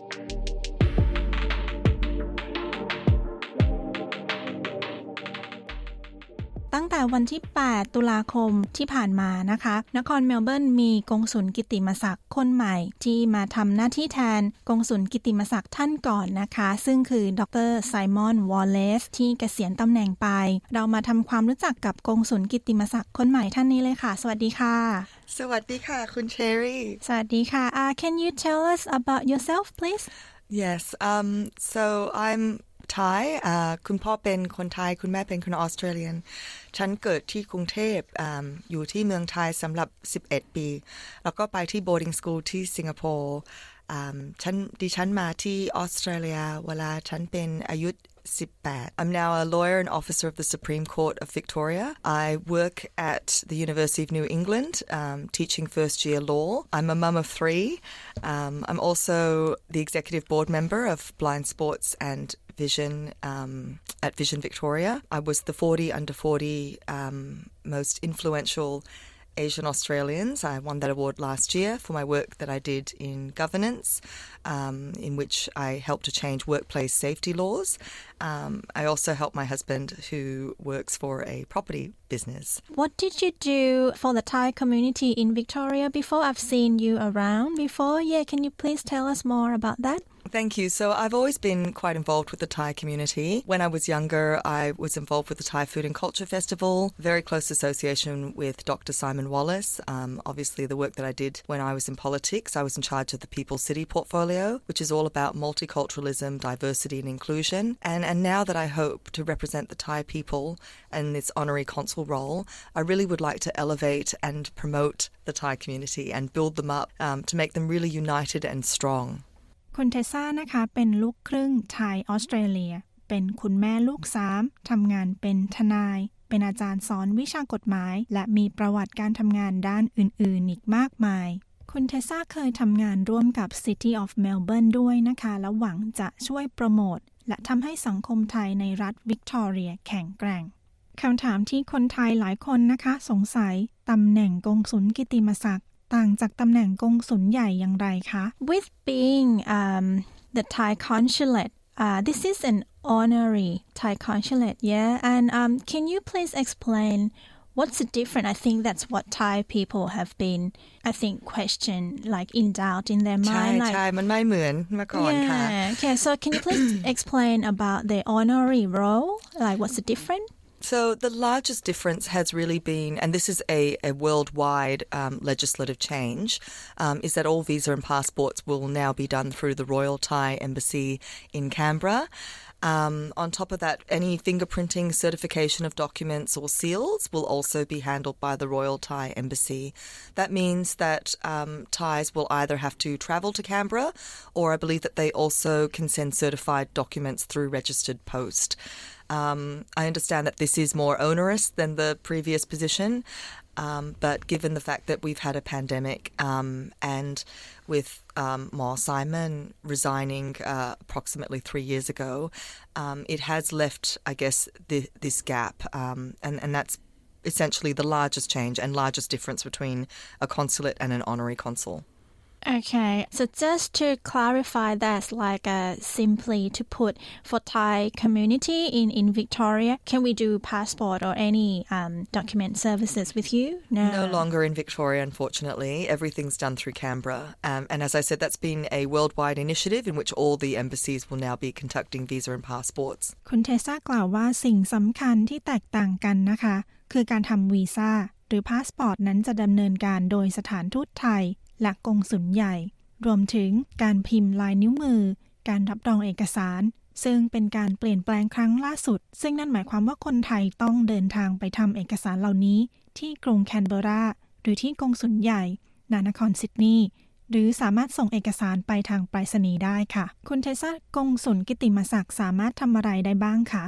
ตั้งแต่วันที่8ตุลาคมที่ผ่านมานะคะนครเมลเบิร์นมีกงสุลกิตติมศักดิ์คนใหม่ที่มาทำหน้าที่แทนกงสุลกิตติมศักดิ์ท่านก่อนนะคะซึ่งคือดร.ไซมอนวอลเลซที่เกษียณตำแหน่งไปเรามาทำความรู้จักกับกงสุลกิตติมศักดิ์คนใหม่ท่านนี้เลยค่ะสวัสดีค่ะสวัสดีค่ะคุณเชอรี่สวัสดีค่ะCan you tell us about yourself please Yes so I'm Thai คุณพ่อเป็นคนไทยคุณแม่เป็นคนออสเตรเลียนฉันเกิดที่กรุงเทพอยู่ที่เมืองไทยสำหรับ11ปีแล้วก็ไปที่ boarding school ที่สิงคโปร์ดิฉันมาที่ออสเตรเลียเวลาฉันเป็นอายุ 18 I'm now a lawyer and officer of the Supreme Court of Victoria. I work at the University of New England, teaching first-year law. I'm a mum of 3. I'm also the executive board member of Blind Sports and Vision at Vision Victoria. I was the 40 under 40 most influential Asian Australians. I won that award last year for my work that I did in governance, in which I helped to change workplace safety laws. I also helped my husband, who works for a property business. What did you do for the Thai community in Victoria before? I've seen you around before. Yeah, can you please tell us more about that? Thank you. So I've always been quite involved with the Thai community. When I was younger, I was involved with the Thai Food and Culture Festival, very close association with Dr. Simon Wallace. Obviously, the work that I did when I was in politics, I was in charge of the People City portfolio, which is all about multiculturalism, diversity and inclusion. And now that I hope to represent the Thai people in this honorary consul role, I really would like to elevate and promote the Thai community and build them up to make them really united and strong. คุณเทซ่านะคะเป็นลูกครึ่งไทยออสเตรเลียเป็นคุณแม่ลูก3ทำงานเป็นทนายเป็นอาจารย์สอนวิชากฎหมายและมีประวัติการทำงานด้านอื่นๆอีกมากมายคุณเทซ่าเคยทำงานร่วมกับ City of Melbourne ด้วยนะคะและหวังจะช่วยโปรโมทและทำให้สังคมไทยในรัฐวิกตอเรียแข็งแกร่งคำถามที่คนไทยหลายคนนะคะสงสัยตำแหน่งกงสุลกิตติมศักดิ์ต่างจากตำแหน่งกงสุลใหญ่อย่างไรคะ With being the Thai consulate, this is an honorary Thai consulate, yeah? And can you please explain what's the difference? I think that's what Thai people have been, I think, questioned, like in doubt in their mind. ใช่ มันไม่เหมือนเมื่อก่อนค่ะ Yeah, okay. So can you please explain about the honorary role? Like what's the difference? So the largest difference has really been, and this is a worldwide legislative change, is that all visa and passports will now be done through the Royal Thai Embassy in Canberra. On top of that, any fingerprinting, certification of documents or seals will also be handled by the Royal Thai Embassy. That means that Thais will either have to travel to Canberra, or I believe that they also can send certified documents through registered post. I understand that this is more onerous than the previous position, but given the fact that we've had a pandemic and with Ma Simon resigning approximately 3 years ago, it has left, I guess, this gap, and that's essentially the largest change and largest difference between a consulate and an honorary consul. Okay, so just to clarify, that's like simply to put for Thai community in Victoria, can we do passport or any document services with you? No longer in Victoria, unfortunately. Everything's done through Canberra. And as I said, that's been a worldwide initiative in which all the embassies will now be conducting visa and passports. คุณเทซ่ากล่าวว่าสิ่งสำคัญที่แตกต่างกันนะคะคือการทำวีซ่าหรือพาสปอร์ตนั้นจะดำเนินการโดยสถานทูตไทยและกงสุลใหญ่รวมถึงการพิมพ์ลายนิ้วมือการรับรองเอกสารซึ่งเป็นการเปลี่ยนแปลงครั้งล่าสุดซึ่งนั่นหมายความว่าคนไทยต้องเดินทางไปทำเอกสารเหล่านี้ที่กรุงแคนเบอร์ราหรือที่กงสุลใหญ่ณนครซิดนีย์หรือสามารถส่งเอกสารไปทางไปรษณีย์ได้ค่ะคุณเทซ่ากงสุลกิตติมศักดิ์สามารถทำอะไรได้บ้างคะ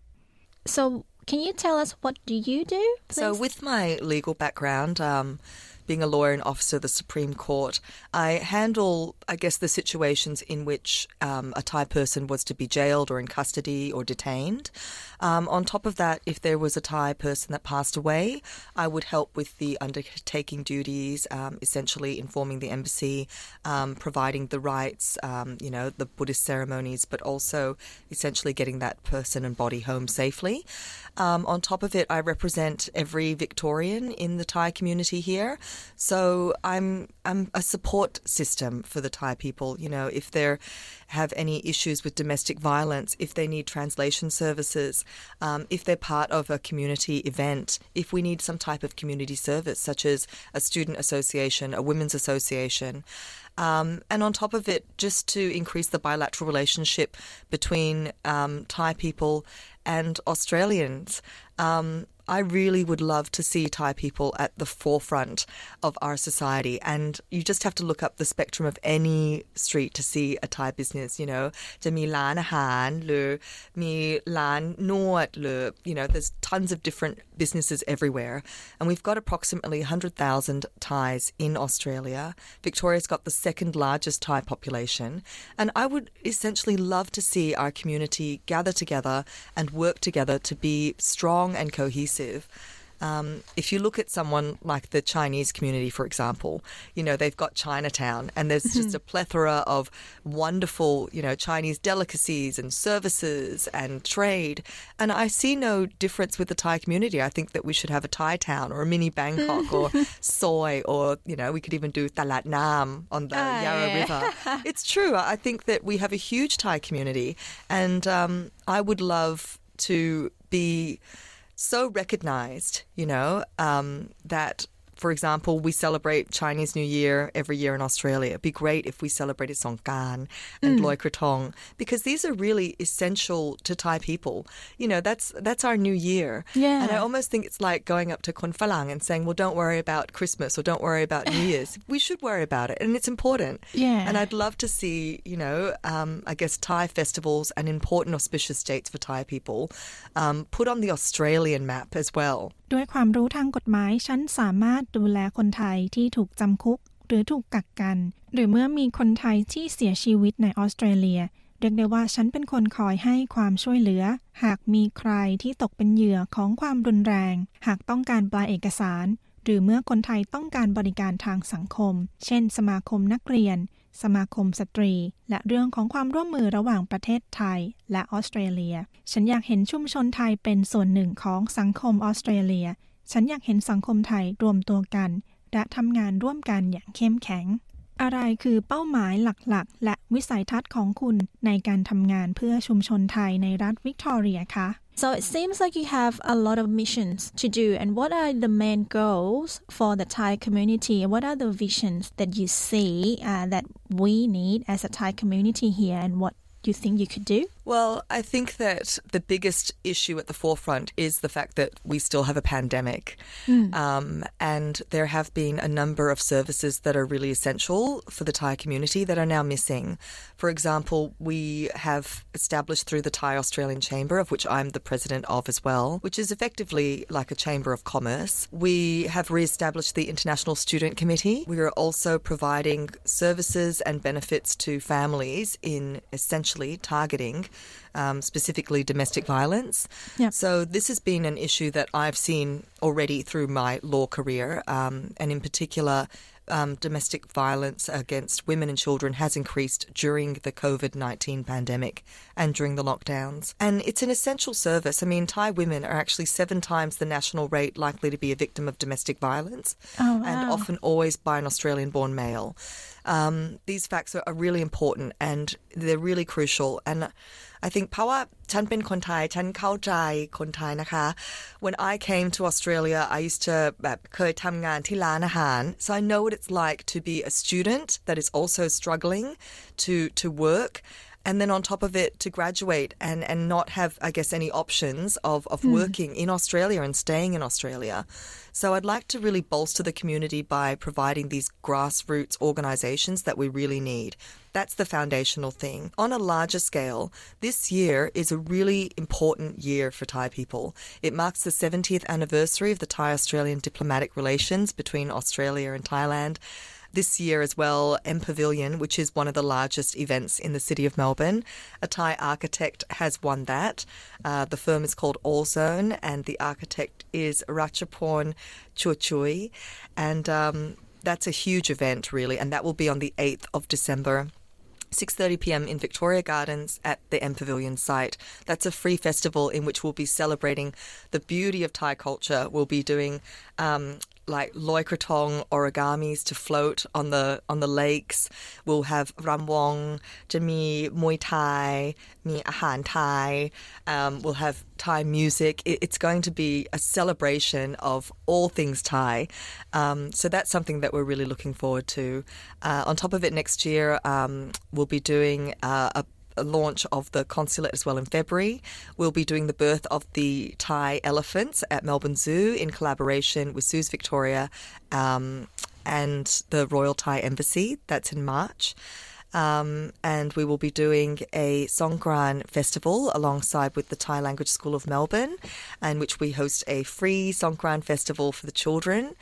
So can you tell us what do you do, please? So with my legal background, being a lawyer and officer of the Supreme Court, I handle, I guess, the situations in which a Thai person was to be jailed or in custody or detained. On top of that, if there was a Thai person that passed away, I would help with the undertaking duties, essentially informing the embassy, providing the rites, the Buddhist ceremonies, but also essentially getting that person and body home safely. On top of it, I represent every Victorian in the Thai community here. So I'm a support system for the Thai people. If they have any issues with domestic violence, if they need translation services, if they're part of a community event, if we need some type of community service, such as a student association, a women's association. And on top of it, just to increase the bilateral relationship between Thai people and Australians. I really would love to see Thai people at the forefront of our society, and you just have to look up the spectrum of any street to see a Thai business, you know จะมีร้านอาหารหรือมีร้านนวดหรือ you know there's tons of different businesses everywhere, and we've got approximately 100,000 Thais in Australia. Victoria's got the second largest Thai population, and I would essentially love to see our community gather together and work together to be strong and cohesive. If you look at someone like the Chinese community, for example, you know, they've got Chinatown, and there's just a plethora of wonderful, you know, Chinese delicacies and services and trade. And I see no difference with the Thai community. I think that we should have a Thai town or a mini Bangkok or Soy, or, you know, we could even do Talat Nam on the Yarra River. It's true. I think that we have a huge Thai community, and I would love to be so recognized, you know, that, for example, we celebrate Chinese New Year every year in Australia. It'd be great if we celebrated Songkran and Loi Krathong, because these are really essential to Thai people. You know, that's our new year. Yeah. And I almost think it's like going up to Kon Phalang and saying, well, don't worry about Christmas or don't worry about New Year's. We should worry about it, and it's important. Yeah. And I'd love to see, you know, I guess Thai festivals and important auspicious dates for Thai people put on the Australian map as well. ด้วยความรู้ทางกฎหมายฉันสามารถดูแลคนไทยที่ถูกจำคุกหรือถูกกักกันหรือเมื่อมีคนไทยที่เสียชีวิตในออสเตรเลียเรียกได้ว่าฉันเป็นคนคอยให้ความช่วยเหลือหากมีใครที่ตกเป็นเหยื่อของความรุนแรงหากต้องการแปลเอกสารหรือเมื่อคนไทยต้องการบริการทางสังคมเช่นสมาคมนักเรียนสมาคมสตรีและเรื่องของความร่วมมือระหว่างประเทศไทยและออสเตรเลียฉันอยากเห็นชุมชนไทยเป็นส่วนหนึ่งของสังคมออสเตรเลียฉันอยากเห็นสังคมไทยรวมตัวกันและทำงานร่วมกันอย่างเข้มแข็งอะไรคือเป้าหมายหลักๆและวิสัยทัศน์ของคุณในการทำงานเพื่อชุมชนไทยในรัฐวิกตอเรียคะ So it seems like you have a lot of missions to do, and what are the main goals for the Thai community? What are the visions that you see that we need as a Thai community here, and what you think you could do? Well, I think that the biggest issue at the forefront is the fact that we still have a pandemic. And there have been a number of services that are really essential for the Thai community that are now missing. For example, we have established through the Thai Australian Chamber, of which I'm the president of as well, which is effectively like a chamber of commerce. We have re-established the International Student Committee. We are also providing services and benefits to families in essentially targeting specifically domestic violence. Yep. So this has been an issue that I've seen already through my law career, and in particular domestic violence against women and children has increased during the COVID-19 pandemic and during the lockdowns. And it's an essential service. I mean, Thai women are actually 7 times the national rate likely to be a victim of domestic violence, and often always by an Australian-born male. These facts are really important and they're really crucial. And I think เพราะว่าฉันเป็นคนไทยฉันเข้าใจคนไทยนะคะ When I came to Australia, I used to แบบเคยทำงานที่ร้านอาหาร so I know what it's like to be a student that is also struggling to work. And then on top of it, to graduate and not have, I guess, any options of working in Australia and staying in Australia. So I'd like to really bolster the community by providing these grassroots organisations that we really need. That's the foundational thing. On a larger scale, this year is a really important year for Thai people. It marks the 70th anniversary of the Thai-Australian diplomatic relations between Australia and Thailand. This year as well, MPavilion, which is one of the largest events in the city of Melbourne. A Thai architect has won that. The firm is called Allzone, and the architect is Ratchaporn Churchui. And that's a huge event, really, and that will be on the 8th of December. 6:30 p.m. in Victoria Gardens at the MPavilion site. That's a free festival in which we'll be celebrating the beauty of Thai culture. We'll be doing like Loi Krathong origamis to float on the lakes. We'll have Ramwong, จะมีมวยไทย มีอาหารไทย we'll have Thai music. It's going to be a celebration of all things Thai. So that's something that we're really looking forward to. On top of it, next year we'll be doing launch of the consulate as well in February. We'll be doing the birth of the Thai elephants at Melbourne Zoo in collaboration with Zoos Victoria and the Royal Thai Embassy. That's in March. And we will be doing a Songkran festival alongside with the Thai Language School of Melbourne, in which we host a free Songkran festival for the children.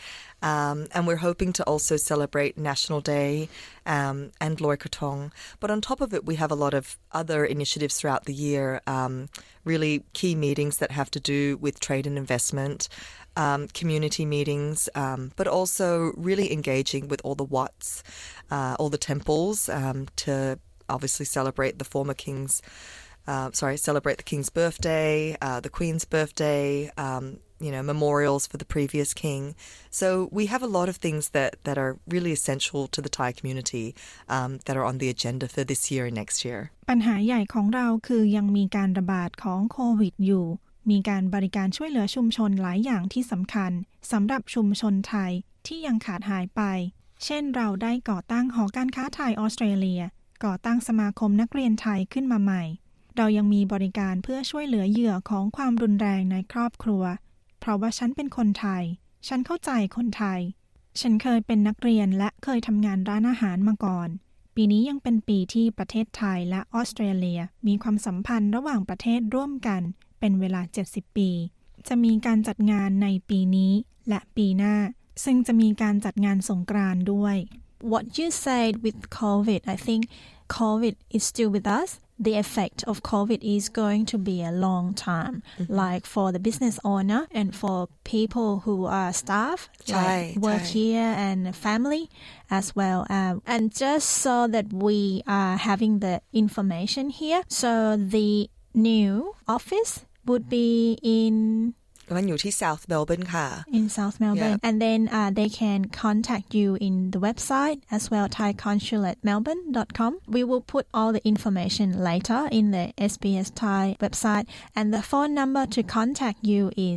And we're hoping to also celebrate National Day and Loi Krathong. But on top of it, we have a lot of other initiatives throughout the year, really key meetings that have to do with trade and investment, community meetings, but also really engaging with all the Wats, all the temples, to obviously celebrate the former king's, celebrate the king's birthday, the queen's birthday, memorials for the previous king. So we have a lot of things that are really essential to the Thai community that are on the agenda for this year and next year. ปัญหาใหญ่ของเราคือยังมีการระบาดของโควิดอยู่มีการบริการช่วยเหลือชุมชนหลายอย่างที่สำคัญสำหรับชุมชนไทยที่ยังขาดหายไปเช่นเราได้ก่อตั้งหอการค้าไทยออสเตรเลียก่อตั้งสมาคมนักเรียนไทยขึ้นมาใหม่เรายังมีบริการเพื่อช่วยเหลือเหยื่อของความรุนแรงในครอบครัวเพราะว่าฉันเป็นคนไทยฉันเข้าใจคนไทยฉันเคยเป็นนักเรียนและเคยทำงานร้านอาหารมาก่อนปีนี้ยังเป็นปีที่ประเทศไทยและออสเตรเลียมีความสัมพันธ์ระหว่างประเทศร่วมกันเป็นเวลา70ปีจะมีการจัดงานในปีนี้และปีหน้าซึ่งจะมีการจัดงานสงกรานต์ด้วย What you said with COVID, I think COVID is still with us. The effect of COVID is going to be a long time, like for the business owner and for people who are staff, like work here and family as well. And just so that we are having the information here, so the new office would be in มันอยู่ที่ South Melbourne ค่ะ in South Melbourne and then they can contact you in the website as well thaiconsulatmelbourne.com. We will put all the information later in the SBS Thai website and the phone number to contact you is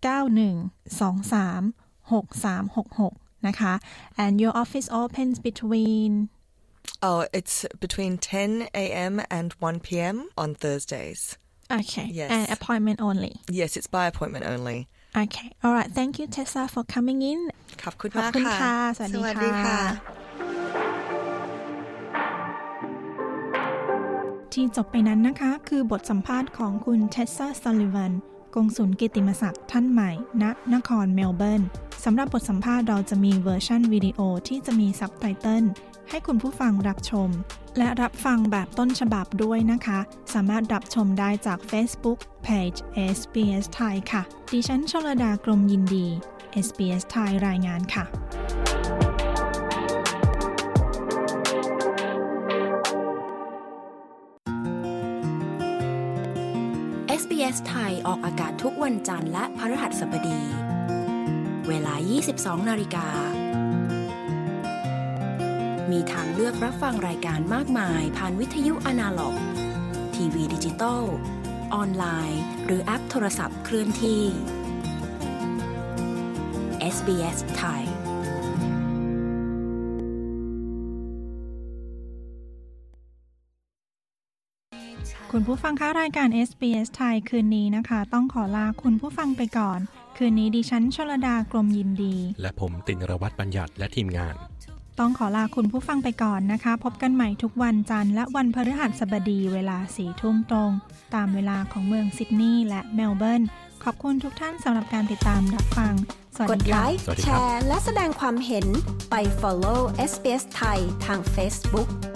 91236366นะคะ and your office opens between it's between 10 a.m. and 1 p.m. on Thursdays.Okay. Yes. And appointment only. Yes, it's by appointment only. Okay. All right. Thank you, Tessa, for coming in. ขอบคุณมากค่ะสวัสดีค่ะที่จบไปนั้นนะคะคือบทสัมภาษณ์ของคุณเทสซาซัลลิวันกงสุลกิตติมศักดิ์ท่านใหม่ณนครเมลเบิร์นสำหรับบทสัมภาษณ์เราจะมีเวอร์ชันวิดีโอที่จะมีซับไตเติลให้คุณผู้ฟังรับชมและรับฟังแบบต้นฉบับด้วยนะคะสามารถรับชมได้จาก Facebook Page SBS Thai ค่ะดิฉันชลดากรมยินดี SBS Thai รายงานค่ะ SBS ไทยออกอากาศทุกวันจันทร์และพฤหัสบดีเวลา 22:00 น. มีทางเลือกรับฟังรายการมากมายผ่านวิทยุอนาล็อก ทีวีดิจิตอลออนไลน์หรือแอปโทรศัพท์เคลื่อนที่ SBS ไทยคุณผู้ฟังคะรายการ SBS ไทยคืนนี้นะคะต้องขอลาคุณผู้ฟังไปก่อนคืนนี้ดิฉันชลดากรมยินดีและผมตินรวัตรบัญญัติและทีมงานต้องขอลาคุณผู้ฟังไปก่อนนะคะพบกันใหม่ทุกวันจันทร์และวันพฤหัสบดีเวลา 4 ทุ่มตรงตามเวลาของเมืองซิดนีย์และเมลเบิร์นขอบคุณทุกท่านสำหรับการติดตามรับฟังกดไลค์แชร์และแสดงความเห็นไป follow SBS ไทยทาง Facebook